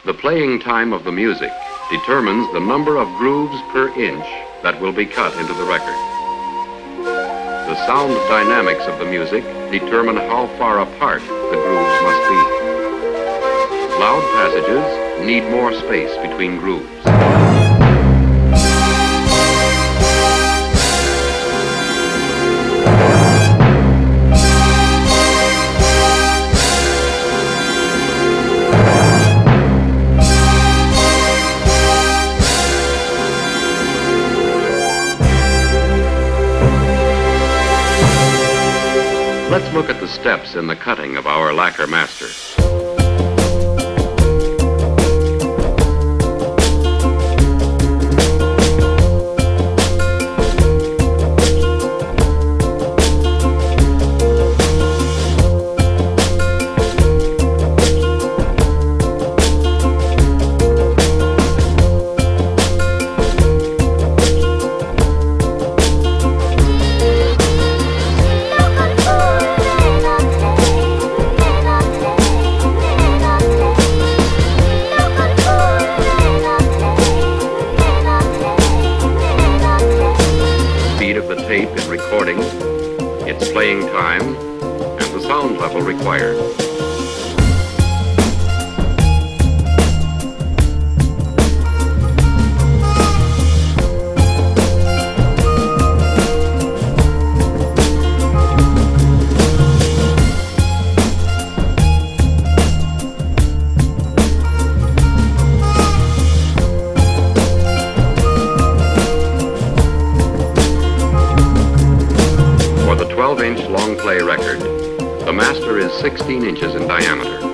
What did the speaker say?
The playing time of the music determines the number of grooves per inch that will be cut into the record. The sound dynamics of the music determine how far apart the grooves must be. Loud passages need more space between grooves. Let's look at the steps in the cutting of our lacquer master. Tape in recording, its playing time, and the sound level required. For the 12-inch long play record, the master is 16 inches in diameter.